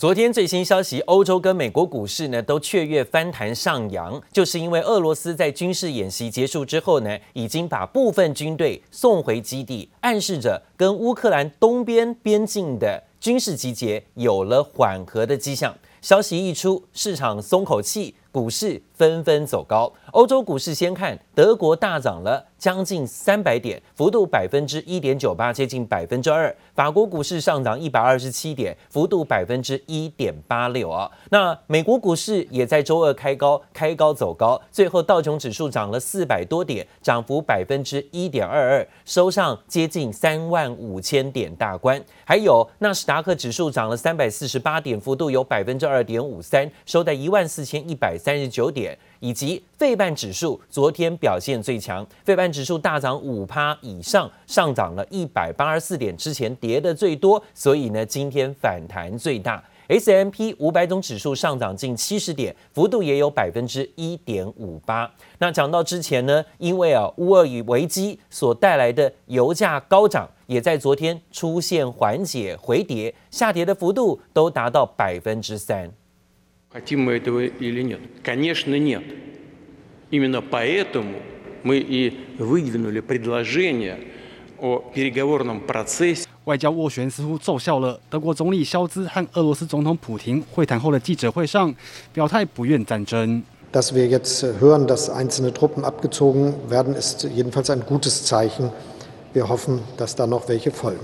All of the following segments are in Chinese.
昨天最新消息，歐洲跟美國股市呢都雀躍翻彈上揚，就是因為俄羅斯在軍事演習結束之後呢，已經把部分軍隊送回基地，暗示着跟烏克蘭東邊邊境的軍事集結有了緩和的跡象。消息一出，市場鬆口氣，股市紛紛走高。歐洲股市先看，德國大漲了將近300點，幅度1.98%，接近2%。法國股市上漲127點，幅度1.86%啊。那美国股市也在周二開高走高，最後道瓊指數漲了400多點，漲幅1.22%，收上接近35000點大關。還有納斯達克指數漲了348點，幅度有2.53%，收在14139點。以及費半指數昨天表現最強，費半指數大漲5%以上，上漲了184點，之前跌的最多，所以呢今天反彈最大。S&P 500種指數上漲近70點，幅度也有1.58%。那講到之前呢，因為烏俄危機所帶來的油價高漲，也在昨天出現緩解回跌，下跌的幅度都達到3%。 Хотим мы этого или нет? Конечно, нет. Именно поэтому мы и выдвинули предложение о переговорном процессе. 外交斡旋似乎奏效了。德國總理肖茲和俄羅斯總統普廷會談後的記者會上，表態不願戰爭。 Dass wir jetzt hören, dass einzelne Truppen abgezogen werden, ist jedenfalls ein gutes Zeichen. Wir hoffen, dass da noch welche folgen.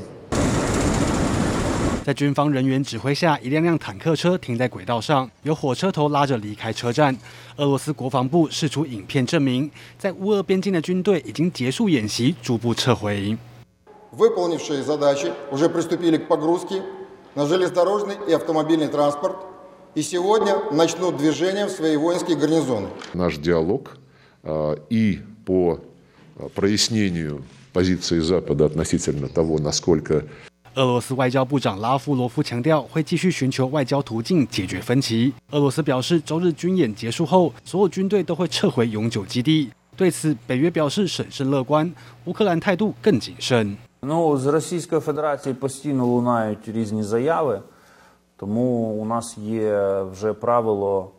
在軍方人員指揮下，一輛輛坦克車停在軌道上，由火車頭拉着離開車站。俄羅斯國防部釋出影片證明，在烏俄邊境的軍隊已經結束演習，逐步撤回。 Выполнившие задачи уже приступили к погрузке на железнодорожный и автомобильный транспорт, и сегодня начнут движение в свои воинские гарнизоны. Наш диалог и по прояснению позиции Запада относительно того, насколько 俄羅斯外交部長拉夫羅夫強調，會繼續尋求外交途徑解決分歧。俄羅斯表示，周日軍演結束後，所有軍隊都會撤回永久基地。對此，北約表示審慎樂觀，烏克蘭態度更謹慎。 З Російської Федерації постійно лунають різні заяви, тому у нас є вже правило,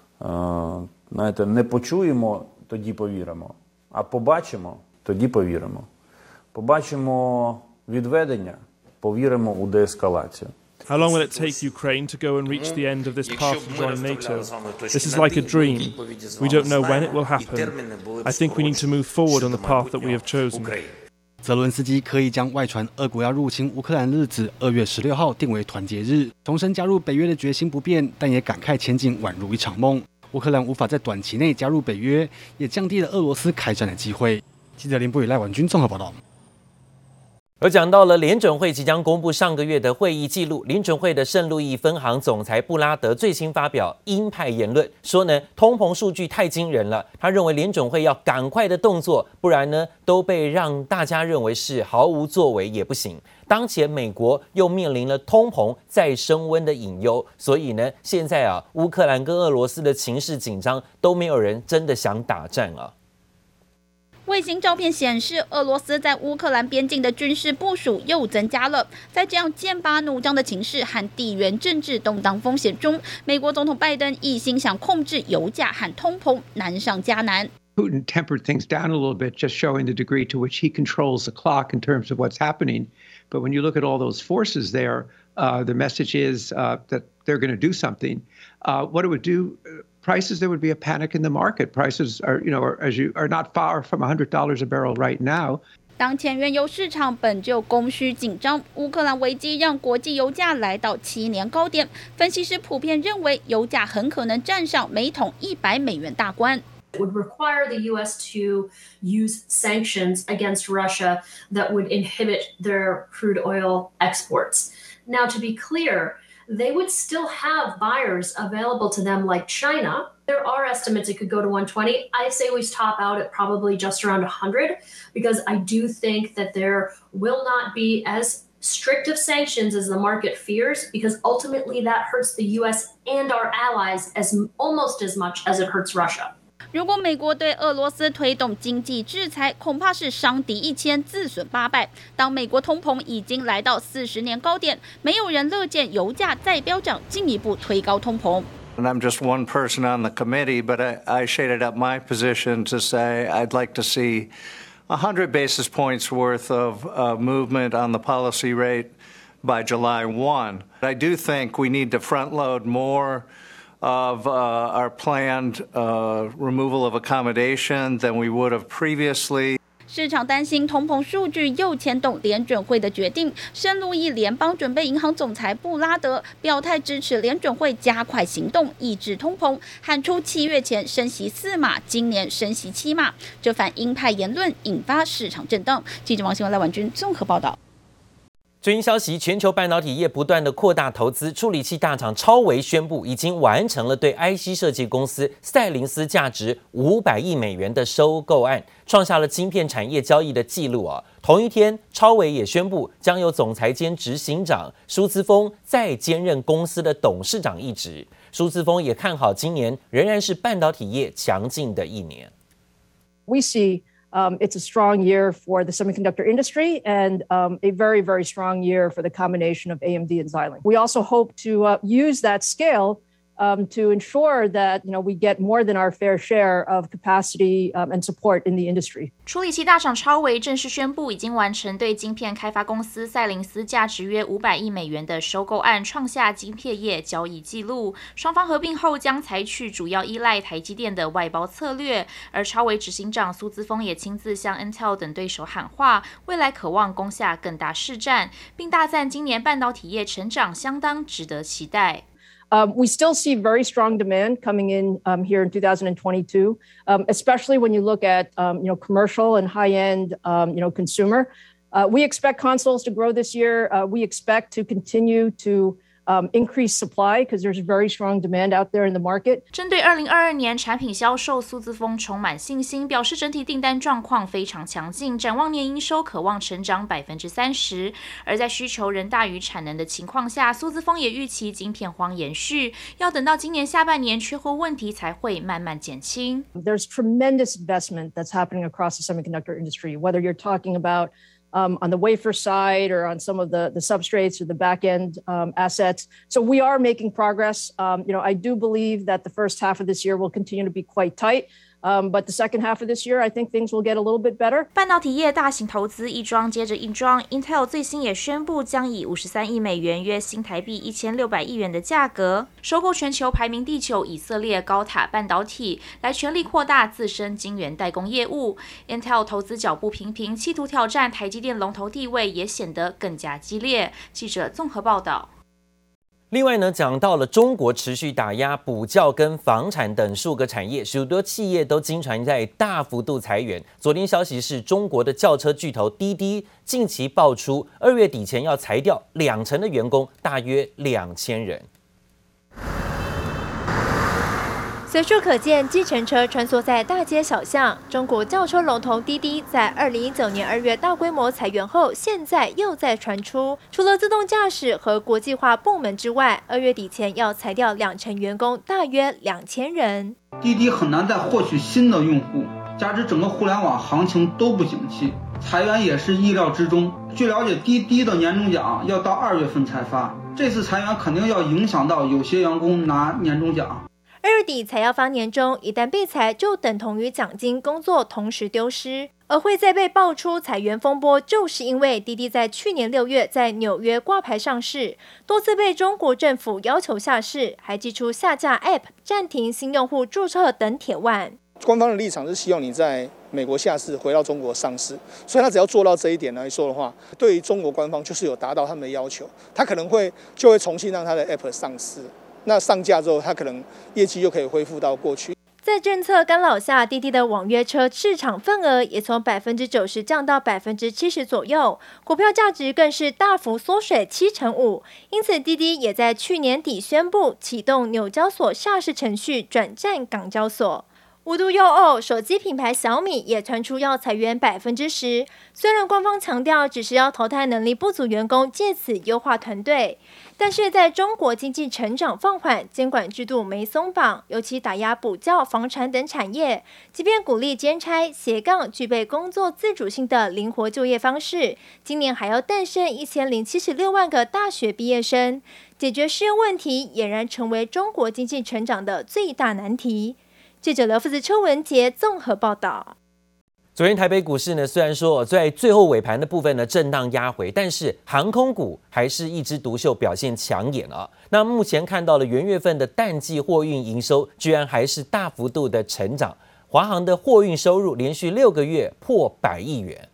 знаєте, не почуємо, тоді повіримо, а побачимо, тоді повіримо. Побачимо відведення, повіримо у деескалацію. How long will it take Ukraine to go and reach the end of this path to join NATO? This is like a dream. We don't know when it will happen. I think we need to move forward on the path that we have chosen. 澤倫斯基刻意將外傳俄國要入侵烏克蘭日子2月16號定為團結日，重申加入北約的決心不變，但也感慨前景宛如一場夢。烏克蘭無法在短期內加入北約，也降低了俄羅斯開戰的機會。記者林博宇、賴婉君綜合報道。 而講到了聯準會即將公布上個月的會議記錄，聯準會的聖路易分行總裁布拉德最新發表鷹派言論，說呢通膨數據太驚人了，他認為聯準會要趕快的動作，不然呢都被讓大家認為是毫無作為也不行。當前美國又面臨了通膨再升溫的隱憂，所以呢現在烏克蘭跟俄羅斯的情勢緊張，都沒有人真的想打戰啊。 衛星照片顯示，俄羅斯在烏克蘭邊境的軍事部署又增加了。在這樣劍拔弩張的情勢和地緣政治動盪風險中，美國總統拜登一心想控制油價和通膨，難上加難。 Putin tempered things down a little bit, just showing the degree to which he controls the clock in terms of what's happening. But when you look at all those forces there, the message is that they're going to do something. What it would do, prices, there would be a panic in the market. Prices are, are not far from $100 a barrel right now. 當前原油市場本就供需緊張，烏克蘭危機讓國際油價來到7年高點。分析師普遍認為，油價很可能站上每桶$100大關。 It would require the U.S. to use sanctions against Russia that would inhibit their crude oil exports. Now, to be clear, they would still have buyers available to them like China. There are estimates it could go to 120. I say we top out at probably just around 100 because I do think that there will not be as strict of sanctions as the market fears, because ultimately that hurts the U.S. and our allies almost as much as it hurts Russia. 如果美國對俄羅斯推動經濟制裁，恐怕是傷敵1000，自損800。當美國通膨已經來到40年高點，沒有人樂見油價再飆漲，進一步推高通膨。 And I'm just one person on the committee, but I shaded up my position to say I'd like to see 100 basis points worth of movement on the policy rate by July 1. I do think we need to front load more of our planned removal of accommodation than we would have previously. 市場擔心通膨數據又牽動聯準會的決定。聖路易聯邦準備銀行總裁布拉德表態支持聯準會加快行動，抑制通膨，喊出7月前升息4碼，今年升息7碼。這番鷹派言論引發市場震盪。記者王新文、賴婉君綜合報道。最新消息，全球半導體業不斷的擴大投資，處理器大廠超微宣布已經完成了對 IC 設計公司賽靈思價值500億美元的收購案，創下了晶片產業交易的紀錄啊。同一天，超微也宣布將由總裁兼執行長蘇姿豐再兼任公司的董事長一職。蘇姿豐也看好今年仍然是半導體業強勁的一年。 We see it's a strong year for the semiconductor industry and a very, very strong year for the combination of AMD and Xilinx. We also hope to use that scale to ensure that we get more than our fair share of capacity and support in the industry. 處理器大廠超微正式宣布，已經完成對晶片開發公司賽靈思價值約500億美元的收購案，創下晶片業交易紀錄。雙方合併後將採取主要依賴台積電的外包策略，而超微執行長蘇姿豐也親自向 Intel 等對手喊話，未來渴望攻下更大市占，並大讚今年半導體業成長相當值得期待。 We still see very strong demand coming in here in 2022, especially when you look at commercial and high-end consumer. We expect consoles to grow this year. We expect to continue to increase supply because there's very strong demand out there in the market. 針對2022年產品銷售，蘇姿豐充滿信心，表示整體訂單狀況非常強勁，展望年營收可望成長30%。而在需求仍大於產能的情況下，蘇姿豐也預期晶片荒延續，要等到今年下半年缺貨問題才會慢慢減輕。 There's tremendous investment that's happening across the semiconductor industry, whether you're talking about on the wafer side or on some of the substrates or the back-end assets. So we are making progress. I do believe that the first half of this year will continue to be quite tight. But the second half of this year, I think things will get a little bit better. 半導體業大型投資一樁接着一樁 ，Intel 最新也宣布將以53億美元（約新台幣1600億元）的價格收購全球排名第9以色列高塔半導體，來全力擴大自身晶圓代工業務。Intel 投資腳步頻頻，企圖挑戰台積電龍頭地位，也顯得更加激烈。記者綜合報道。 另外呢，講到了中國持續打壓補教跟房產等數個產業，許多企業都經傳在大幅度裁員。昨天消息是中國的轎車巨頭滴滴近期爆出2月底前要裁掉20%的員工，大約2000人。 隨處可見計程車穿梭在大街小巷。中國轎車龍頭滴滴在2019年2月大規模裁員後，現在又在傳出，除了自動駕駛和國際化部門之外，2月底前要裁掉20%員工，大約2000人。 滴滴很難再獲取新的用戶，加之整個互聯網行情都不景氣，裁員也是意料之中。據了解，滴滴的年終獎要到2月份才發，這次裁員肯定要影響到有些員工拿年終獎。 2月底才要發年終，一旦被裁，就等同於獎金、工作同時丟失。而會再被爆出裁員風波，就是因為滴滴在去年6月在紐約掛牌上市，多次被中國政府要求下市，還祭出下架 App、暫停新用戶註冊等鐵腕。 官方的立場是希望你在美國下市，回到中國上市，所以他只要做到這一點來說的話，對於中國官方就是有達到他們的要求，他可能就會重新讓他的 App 上市。那上架之後，它可能業績就可以恢復到過去。 在政策干擾下，滴滴的網約車市場份額也從90%降到70%左右，股票價值更是大幅縮水75%。因此，滴滴也在去年底宣布啟動紐交所下市程序，轉戰港交所。 無獨有偶，手機品牌小米也傳出要裁員10%。雖然官方強調只是要淘汰能力不足員工，借此優化團隊，但是在中國經濟成長放緩、監管制度沒鬆綁，尤其打壓補教、房產等產業，即便鼓勵兼差、斜槓、具備工作自主性的靈活就業方式，今年還要誕生1076萬個大學畢業生，解決失業問題儼然成為中國經濟成長的最大難題。記者劉富子、邱文杰綜合報道。 昨天台北股市呢，雖然說在最後尾盤的部分呢震盪壓回，但是航空股還是一枝獨秀，表現搶眼啊。那目前看到了元月份的淡季貨運營收，居然還是大幅度的成長，華航的貨運收入連續6個月破100億元。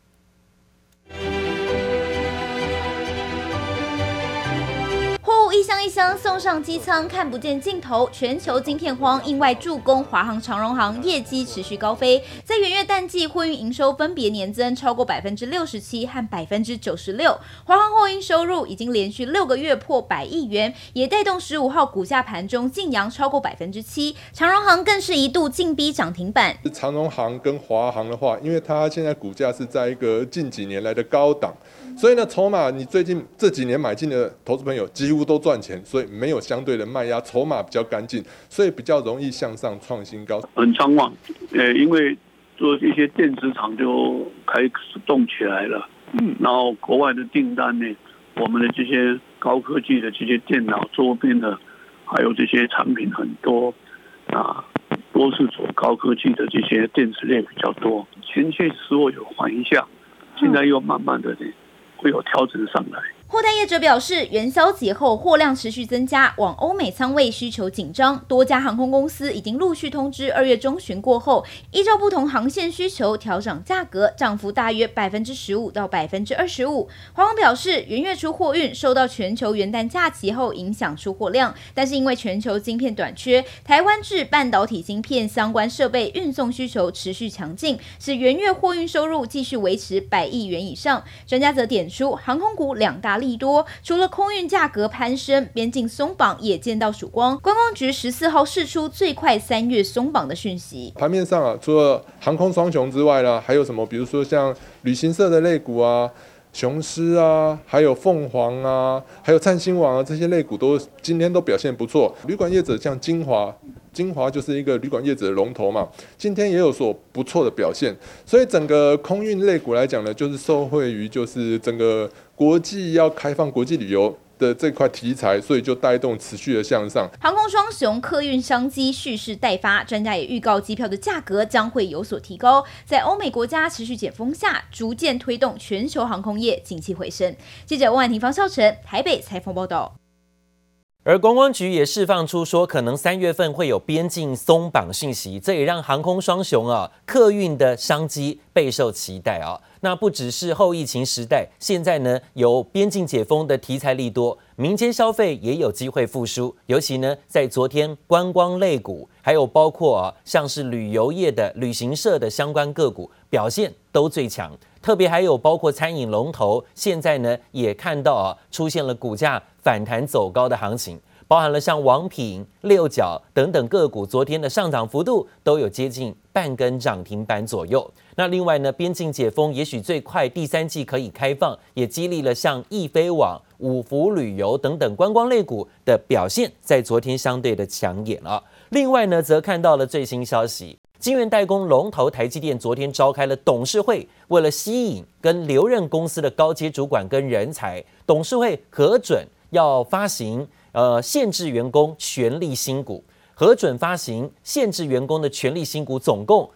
一箱一箱送上機艙，看不見盡頭。全球晶片荒意外助攻華航、長榮航業績持續高飛，在元月淡季貨運營收分別年增超過67%和96%。華航貨運收入已經連續6個月破100億元，也帶動15號股價盤中勁揚超過7%。長榮航更是一度勁逼漲停板。 長榮航跟華航的話，因為它現在股價是在一個近幾年來的高檔，所以呢，籌碼你最近這幾年買進的投資朋友幾乎都賺錢，所以沒有相對的賣壓，籌碼比較乾淨，所以比較容易向上創新高。 很暢旺，因為做一些電子廠就開始動起來了，然後國外的訂單呢，我們的這些高科技的這些電腦周邊的，還有這些產品很多啊，都是走高科技的這些電子類比較多。前些時候有緩一下，現在又慢慢的呢會有調整上來。 貨代業者表示，元宵節後貨量持續增加，往歐美倉位需求緊張，多家航空公司已經陸續通知2月中旬過後，依照不同航線需求調漲價格，漲幅大約15%到25%。華航表示，元月初貨運受到全球元旦假期後影響出貨量，但是因為全球晶片短缺，台灣製半導體晶片相關設備運送需求持續強勁，使元月貨運收入繼續維持100億元以上。專家則點出，航空股2大利多，除了空運價格攀升，邊境鬆綁也見到曙光。觀光局14號釋出最快3月鬆綁的訊息。 盤面上啊，除了航空雙雄之外呢，還有什麼？比如說像旅行社的類股啊，雄獅啊，還有鳳凰啊，還有燦星網啊，這些類股今天都表現不錯。旅館業者像晶華就是一個旅館業者的龍頭嘛，今天也有所不錯的表現。所以整個空運類股來講呢，就是受惠於就是整個國際要開放國際旅遊的這塊題材，所以就帶動持續的向上。 航空雙雄客運商機蓄勢待發，專家也預告機票的價格將會有所提高。在歐美國家持續解封下，逐漸推動全球航空業景氣回升。記者溫婉婷、方少成台北採訪報道。 而觀光局也釋放出說，可能3月份會有邊境鬆綁訊息，這也讓航空雙雄客運的商機備受期待啊。那不只是後疫情時代，現在呢有邊境解封的題材利多，民間消費也有機會復甦。尤其呢在昨天觀光類股，還有包括像是旅遊業的旅行社的相關個股表現都最強。特別還有包括餐飲龍頭，現在呢也看到出現了股價反彈走高的行情，包含了像王品、六角等等個股，昨天的上漲幅度都有接近半根漲停板左右。那另外呢，邊境解封也許最快第3季可以開放，也激勵了像易飛網、五福旅遊等等觀光類股的表現，在昨天相對的搶眼啊。另外呢，則看到了最新消息。晶圓代工龍頭台積電昨天召開了董事會，為了吸引跟留任公司的高階主管跟人才，董事會核准要發行限制員工權利新股，核准發行限制員工的權利新股總共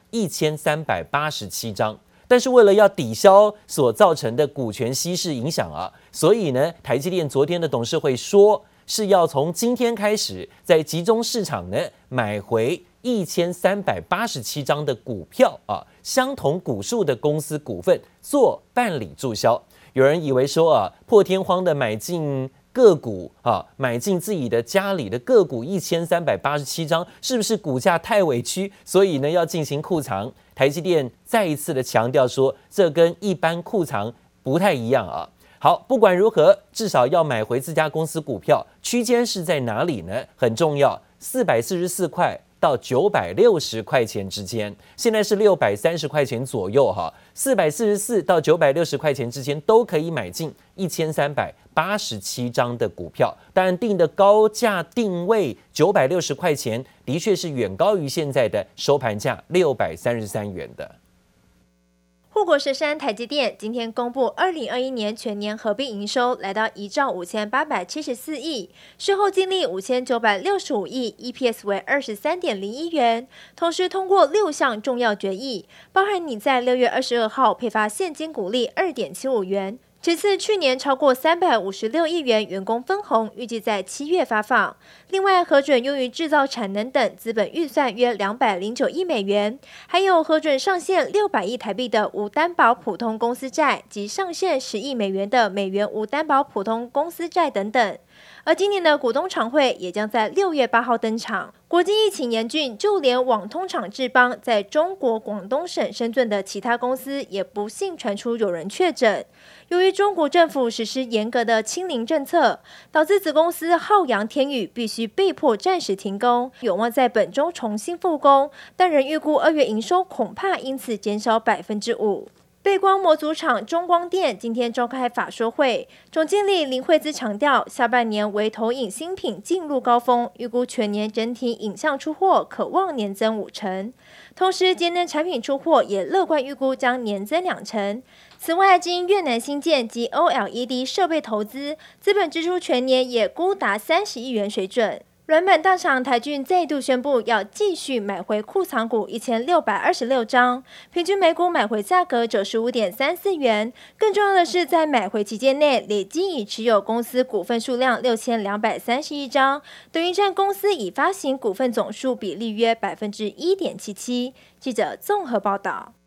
1387張。但是為了要抵消所造成的股權稀釋影響所以呢，台積電昨天的董事會說是要從今天開始，在集中市場呢買回1387張的股票相同股數的公司股份做辦理註銷。有人以為說破天荒的買進個股買進自己的家裡的個股1387張，是不是股價太委屈，所以呢要進行庫藏？台積電再一次的強調說，這跟一般庫藏不太一樣好，不管如何，至少要買回自家公司股票，區間是在哪裡呢？很重要，444塊到960塊錢之間，現在是630塊錢左右哈，444到960塊錢之間都可以買進1387張的股票，当然定的高價定位960塊錢，的確是遠高於現在的收盤價633元的。 護國神山台積電今天公布2021年全年合併營收來到1兆5874億，稅後淨利5965億 ，EPS 為23.01元。同時通過6項重要決議，包含擬在6月22號配發現金股利2.75元。其次，去年超過356億元員工分紅，預計在7月發放。另外，核准用於製造產能等資本預算約209億美元，還有核准上限600億台幣的無擔保普通公司債及上限10億美元的美元無擔保普通公司債等等。而今年的股東常會也將在6月8號登場。國際疫情嚴峻，就連網通廠智邦在中國廣東省深圳的其他公司也不幸傳出有人確診。由於中國政府實施嚴格的清零政策，導致子公司浩洋天宇必須被迫暫時停工，有望在本周重新復工，但仍預估2月營收恐怕因此減少5%。背光模組廠中光電今天召開法說會，總經理林惠姿強調，下半年為投影新品進入高峰，預估全年整體影像出貨可望年增50%。同時，節能產品出貨也樂觀預估將年增2%。此外，經越南新建及 OLED 設備投資，資本支出全年也估達30億元水準。軟板大廠台郡再度宣布要繼續買回庫藏股1626張，平均每股買回價格95.34元。更重要的是，在買回期間內累計已持有公司股份數量6231張，等於佔公司已發行股份總數比例約1.77%。記者綜合報道。